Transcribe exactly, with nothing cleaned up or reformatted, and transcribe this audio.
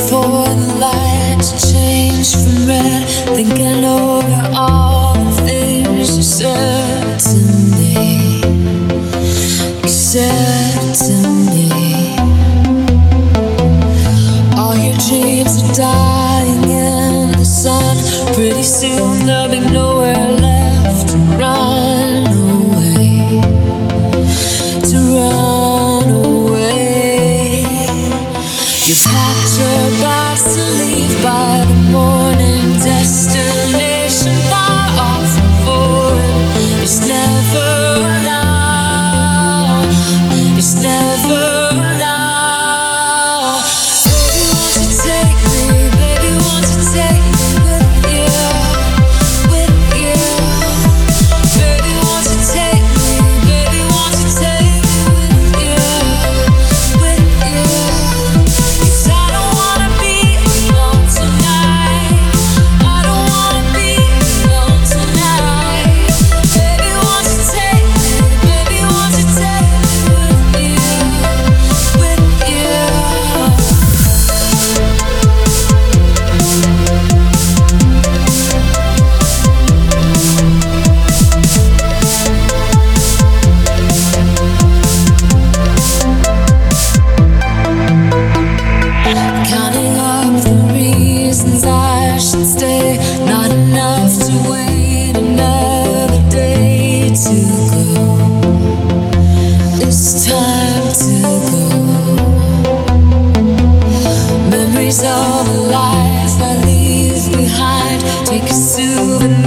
before the lights change from red. Thinking over all the things you said to me. You said to me. All your dreams are dying in the sun. Pretty soon there'll be nowhere left to run away. To run away. You packed your bags to leave by the morning. Destination far off and foreign. It's never now. It's never now. Baby, won't you take me? Baby, won't you take me with you? With you. Baby, won't you take me? Baby, won't you take me with you? With you. 'Cause I don't wanna be alone tonight. I don't wanna be alone tonight. Baby, won't you take me? Baby, won't you take me with you? With you. Counting up the reasons I should stay. Not enough to wait another day to go. It's time to go. Memories of a life I leave behind. Take a souvenir.